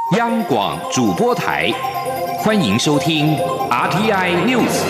央广主播台，欢迎收听 RTI News。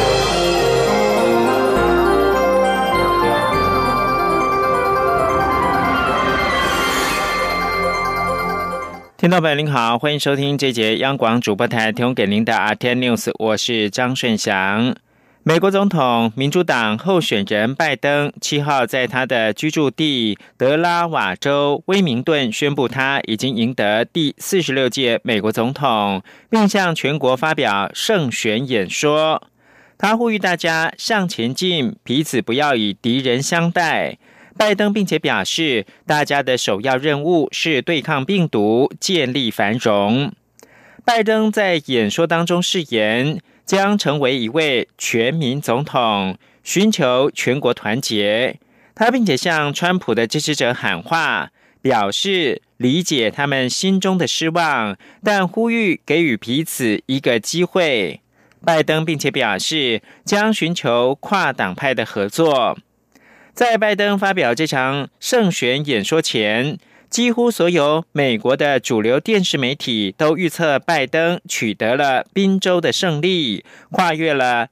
听众朋友您好，欢迎收听这节央广主播台提供给您的 RTI News， 我是张顺祥。美国总统民主党候选人拜登7号在他的居住地德拉瓦州威明顿宣布他已经赢得第46届美国总统，并向全国发表胜选演说。他呼吁大家向前进，彼此不要以敌人相待。拜登并且表示，大家的首要任务是对抗病毒，建立繁荣。拜登在演说当中誓言将成为一位全民总统，寻求全国团结。他并且向川普的支持者喊话，表示理解他们心中的失望，但呼吁给予彼此一个机会。拜登并且表示将寻求跨党派的合作。在拜登发表这场胜选演说前，几乎所有美国的主流电视媒体都预测拜登取得了宾州的胜利，跨越了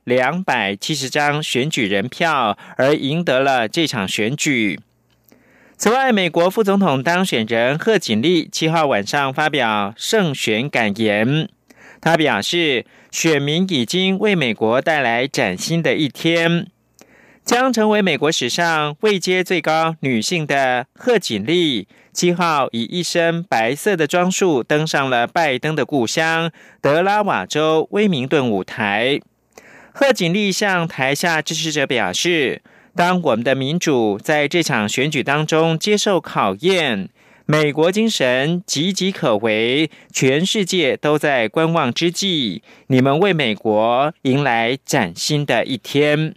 270张选举人票，而赢得了这场选举。此外，美国副总统当选人贺锦丽7号晚上发表胜选感言，他表示，选民已经为美国带来崭新的一天。将成为美国史上位阶最高女性的贺锦丽7号以一身白色的装束登上了拜登的故乡德拉瓦州威明顿舞台。贺锦丽向台下支持者表示，当我们的民主在这场选举当中接受考验，美国精神岌岌可危，全世界都在观望之际，你们为美国迎来崭新的一天。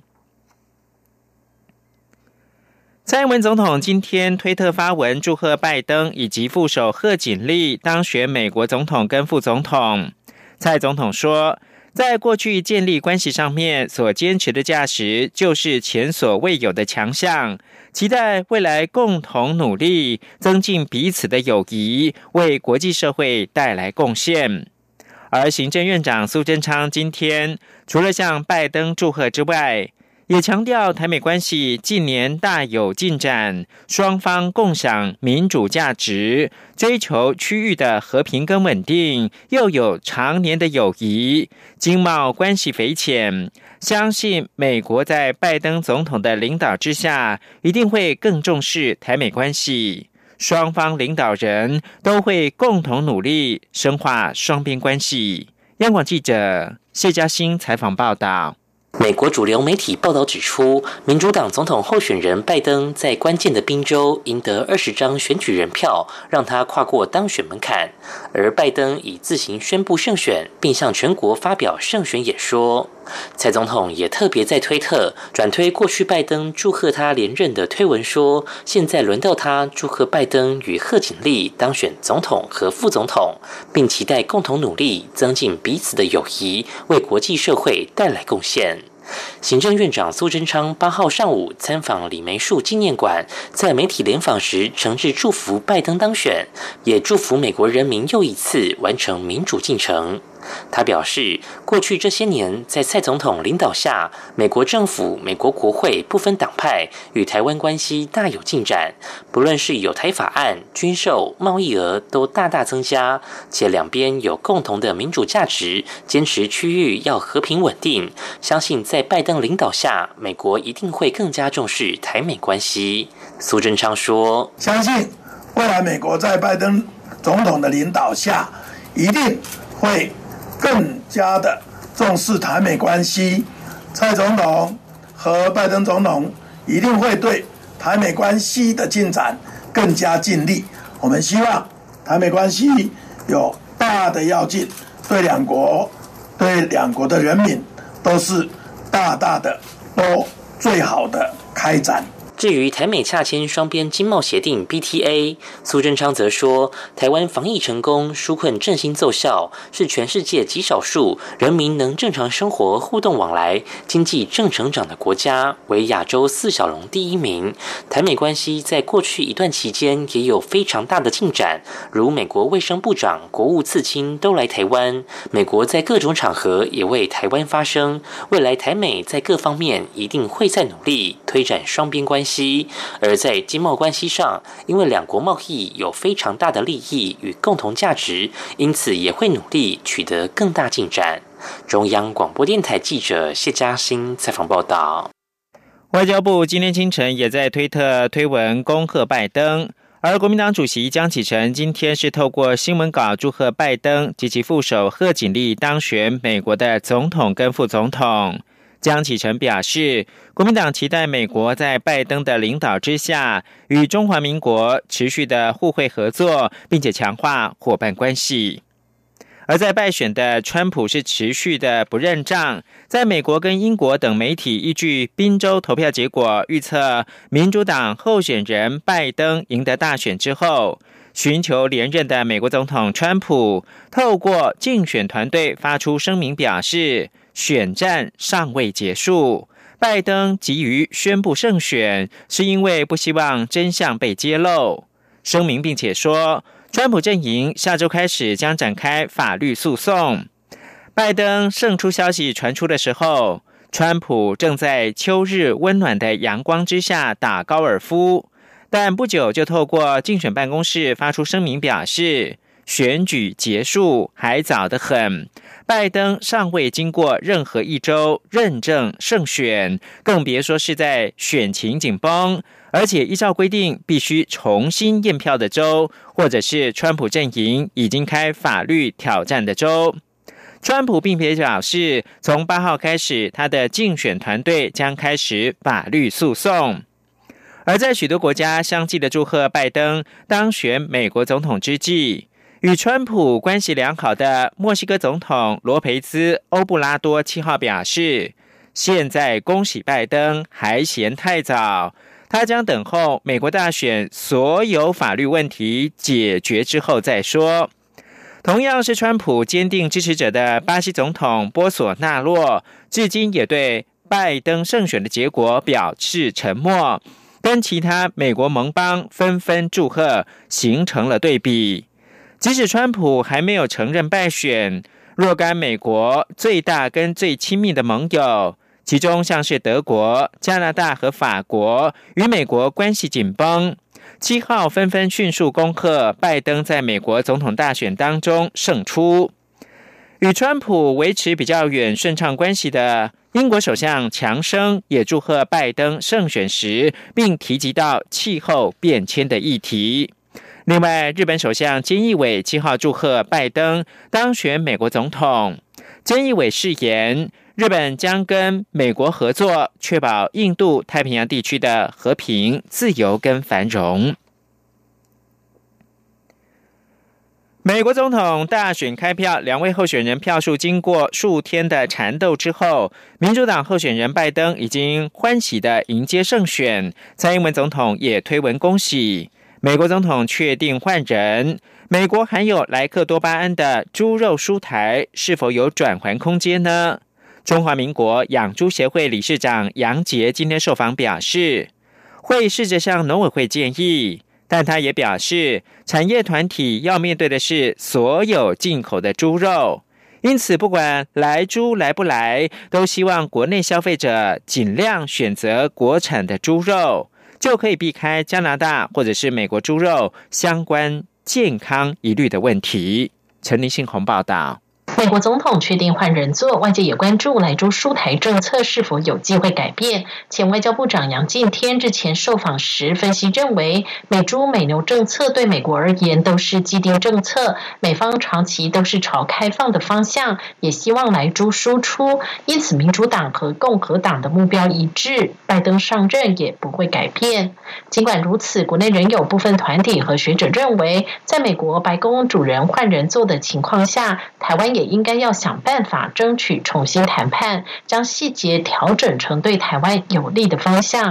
蔡英文总统今天推特发文祝贺拜登以及副手贺锦丽当选美国总统跟副总统。蔡总统说，在过去建立关系上面所坚持的价值就是前所未有的强项，期待未来共同努力，增进彼此的友谊，为国际社会带来贡献。而行政院长苏贞昌今天除了向拜登祝贺之外，也强调台美关系近年大有进展，双方共享民主价值，追求区域的和平跟稳定，又有常年的友谊，经贸关系匪浅。相信美国在拜登总统的领导之下，一定会更重视台美关系，双方领导人都会共同努力深化双边关系。央广记者谢嘉欣采访报道。 美国主流媒体报道指出，民主党总统候选人拜登在关键的宾州赢得20张选举人票，让他跨过当选门槛。而拜登已自行宣布胜选，并向全国发表胜选演说。蔡总统也特别在推特转推过去拜登祝贺他连任的推文说，现在轮到他祝贺拜登与贺锦丽当选总统和副总统，并期待共同努力，增进彼此的友谊，为国际社会带来贡献。行政院长苏贞昌8号上午参访李梅树纪念馆，在媒体联访时诚挚祝福拜登当选，也祝福美国人民又一次完成民主进程。他表示，过去这些年，在蔡总统领导下，美国政府、美国国会不分党派，与台湾关系大有进展。不论是有台法案、军售、贸易额都大大增加，且两边有共同的民主价值，坚持区域要和平稳定。相信在拜登领导下，美国一定会更加重视台美关系。苏贞昌说：“ 相信未来美国在拜登总统的领导下，一定会更加的重视台美关系，蔡总统和拜登总统一定会对台美关系的进展更加尽力。我们希望台美关系有大的要进，对两国的人民都是大大的都最好的开展。” 至于台美洽签双边经贸协定 BTA， 苏贞昌则说，台湾防疫成功，纾困振兴奏效，是全世界极少数人民能正常生活、互动往来、经济正成长的国家，为亚洲4小龙第1名。台美关系在过去一段期间也有非常大的进展，如美国卫生部长、国务次卿都来台湾，美国在各种场合也为台湾发声。未来台美在各方面一定会再努力推展双边关系，而在经贸关系上，因为两国贸易有非常大的利益与共同价值，因此也会努力取得更大进展。中央广播电台记者谢嘉欣采访报道。 外交部今天清晨也在推特推文恭贺拜登，而国民党主席江启臣今天是透过新闻稿祝贺拜登及其副手贺锦丽当选美国的总统跟副总统。江启臣表示，国民党期待美国在拜登的领导之下，与中华民国持续的互惠合作，并且强化伙伴关系。而在败选的川普是持续的不认账，在美国跟英国等媒体依据宾州投票结果预测民主党候选人拜登赢得大选之后，寻求连任的美国总统川普透过竞选团队发出声明表示，选战尚未结束，拜登急于宣布胜选是因为不希望真相被揭露。声明并且说，川普阵营下周开始将展开法律诉讼。拜登胜出消息传出的时候，川普正在秋日温暖的阳光之下打高尔夫，但不久就透过竞选办公室发出声明表示，选举结束还早得很，拜登尚未经过任何一州认证胜选，更别说是在选情紧绷，而且依照规定必须重新验票的州，或者是川普阵营已经开法律挑战的州。川普并且表示，从8号开始，他的竞选团队将开始法律诉讼。而在许多国家相继的祝贺拜登当选美国总统之际，与川普关系良好的墨西哥总统罗培兹·欧布拉多7号表示，现在恭喜拜登还嫌太早，他将等候美国大选所有法律问题解决之后再说。同样是川普坚定支持者的巴西总统波索纳洛，至今也对拜登胜选的结果表示沉默，跟其他美国盟邦纷纷祝贺，形成了对比。即使川普还没有承认败选，若干美国最大跟最亲密的盟友，其中像是德国、加拿大和法国，与美国关系紧绷，7号纷纷迅速恭贺拜登在美国总统大选当中胜出。与川普维持比较远顺畅关系的英国首相强生也祝贺拜登胜选时，并提及到气候变迁的议题。另外，日本首相菅义伟7号祝贺拜登当选美国总统。菅义伟誓言，日本将跟美国合作，确保印度太平洋地区的和平、自由跟繁荣。美国总统大选开票，2位候选人票数经过数天的缠斗之后，民主党候选人拜登已经欢喜的迎接胜选，蔡英文总统也推文恭喜。美国总统确定换人，美国含有莱克多巴胺的猪肉蔬台是否有转圜空间呢？中华民国养猪协会理事长杨杰今天受访表示，会试着向农委会建议，但他也表示，产业团体要面对的是所有进口的猪肉，因此不管来猪来不来，都希望国内消费者尽量选择国产的猪肉，就可以避开加拿大或者是美国猪肉相关健康疑虑的问题。陈立信宏报道。 美国总统确定换人做，外界也关注莱猪输台政策是否有机会改变。前外交部长杨敬天日前受访时分析认为，美猪美牛政策对美国而言都是既定政策，美方长期都是朝开放的方向，也希望莱猪输出，因此民主党和共和党的目标一致，拜登上任也不会改变。尽管如此，国内仍有部分团体和学者认为，在美国白宫主人换人做的情况下，台湾也应该要想办法争取重新谈判，将细节调整成对台湾有利的方向。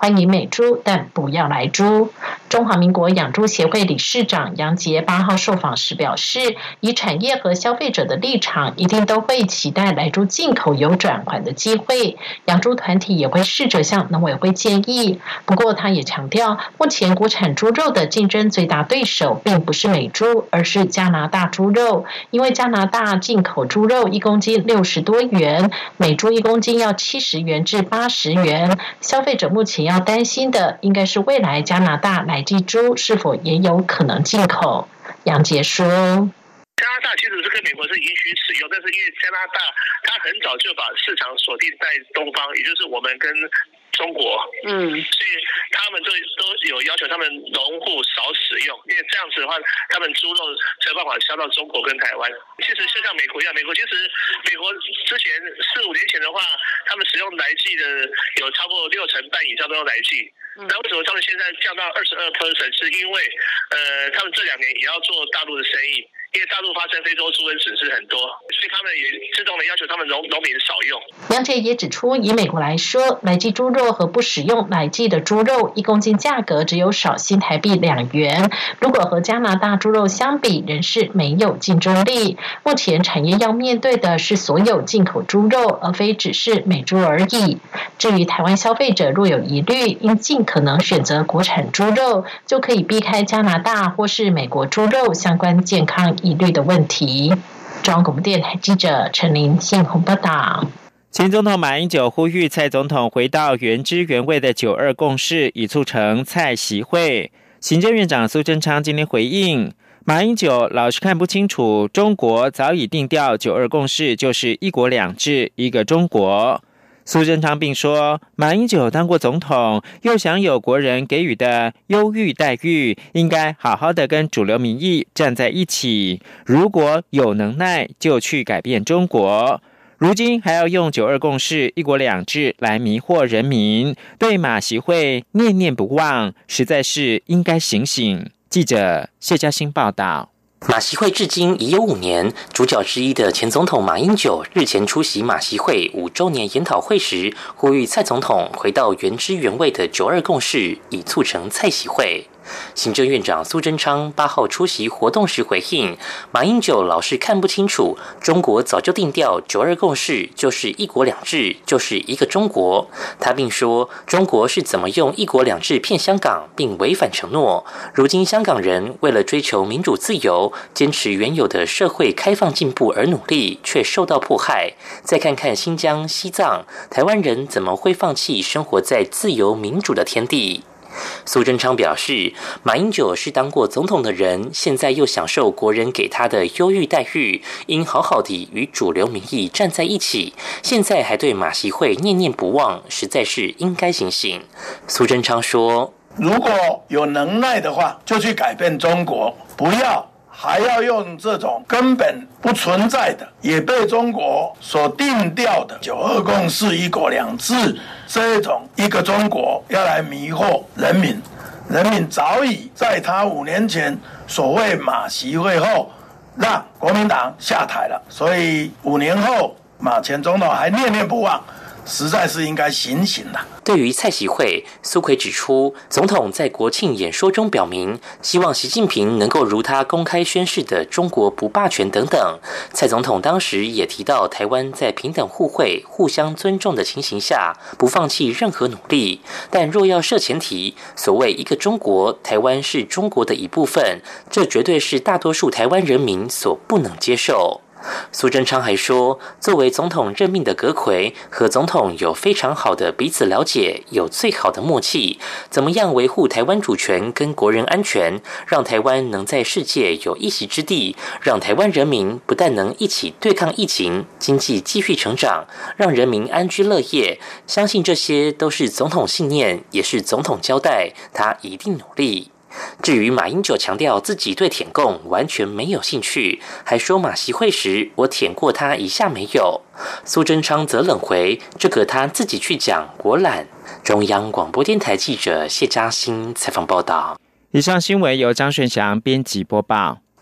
欢迎美猪，但不要来猪。中华民国养猪协会理事长杨杰8号受访时表示，以产业和消费者的立场，一定都会期待来猪进口有转圜的机会。养猪团体也会试着向农委会建议。不过，他也强调，目前国产猪肉的竞争最大对手并不是美猪，而是加拿大猪肉。因为加拿大进口猪肉1公斤60多元，美猪1公斤要70元至80元。消费者目前要担心的，应该是未来加拿大来鸡猪是否也有可能进口。杨杰说， 加拿大其实是跟美国是允许使用，但是因为加拿大它很早就把市场锁定在东方，也就是我们跟中国，所以他们都有要求他们农户少使用，因为这样子的话，他们猪肉才有办法销到中国跟台湾。其实就像美国一样，美国之前4、5年前的话，他们使用来剂的有超过60%以上都用来剂。那为什么他们现在降到22%？是因为他们这2年也要做大陆的生意。因为大陆发生非洲猪瘟损失很多，所以他们也自动的要求他们农民少用。 杨杰也指出，以美国来说，来剂猪肉和不使用来剂的猪肉1公斤价格只有少新台币2元，如果和加拿大猪肉相比，仍是没有竞争力。目前产业要面对的是所有进口猪肉，而非只是美猪而已。至于台湾消费者若有疑虑，应尽可能选择国产猪肉，就可以避开加拿大或是美国猪肉相关健康疑虑的问题。中央广播电台记者陈琳信鸿报道。 前总统马英九呼吁蔡总统回到原汁原味的9·2共识，以促成蔡习会。行政院长苏贞昌今天回应，马英九老是看不清楚，中国早已定调9·2共识就是一国两制，一个中国。苏贞昌并说，马英九当过总统，又享有国人给予的优遇待遇，应该好好的跟主流民意站在一起。如果有能耐，就去改变中国。如今还要用9·2共识、一国两制来迷惑人民，对马习会念念不忘，实在是应该醒醒。记者谢嘉欣报道。 马习会至今已有5年，主角之一的前总统马英九日前出席马习会5周年研讨会时，呼吁蔡总统回到原汁原味的9·2共识，以促成蔡习会。行政院长苏贞昌8号出席活动时回应，马英九老是看不清楚，中国早就定调9·2共识就是一国两制，就是一个中国。他并说，中国是怎么用一国两制骗香港，并违反承诺。如今香港人为了追求民主自由，坚持原有的社会开放进步而努力，却受到迫害。再看看新疆、西藏，台湾人怎么会放弃生活在自由民主的天地？苏贞昌表示，马英九是当过总统的人，现在又享受国人给他的优遇待遇，应好好地与主流民意站在一起。现在还对马习会念念不忘，实在是应该醒醒。苏贞昌说， 如果有能耐的话，就去改变中国，不要还要用这种根本不存在的，也被中国所定调的9·2共识、一国两制这种一个中国要来迷惑人民。人民早已在他5年前所谓马习会后，让国民党下台了，所以5年后马前总统还念念不忘，实在是应该醒醒了。 对于蔡习会，苏揆指出，总统在国庆演说中表明，希望习近平能够如他公开宣示的中国不霸权等等。蔡总统当时也提到，台湾在平等互惠、互相尊重的情形下，不放弃任何努力。但若要设前提，所谓一个中国，台湾是中国的一部分，这绝对是大多数台湾人民所不能接受。苏贞昌还说，作为总统任命的阁揆和总统有非常好的彼此了解，有最好的默契，怎么样维护台湾主权跟国人安全，让台湾能在世界有一席之地，让台湾人民不但能一起对抗疫情，经济继续成长，让人民安居乐业，相信这些都是总统信念，也是总统交代，他一定努力。至于马英九强调自己对舔共完全没有兴趣，还说马习会时我舔过他一下没有，苏贞昌则冷回，这个他自己去讲，我懒。中央广播电台记者谢嘉欣采访报道。 以上新闻由张顺祥编辑播报。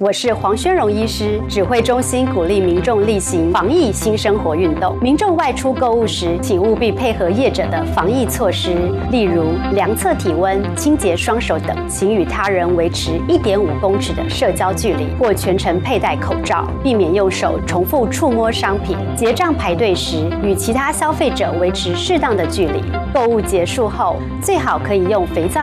我是黄宣荣医师，指挥中心鼓励民众例行防疫新生活运动。民众外出购物时，请务必配合业者的防疫措施，例如量测体温、清洁双手等，请与他人维持1.5公尺的社交距离，或全程佩戴口罩，避免用手重复触摸商品。结账排队时，与其他消费者维持适当的距离。购物结束后，最好可以用肥皂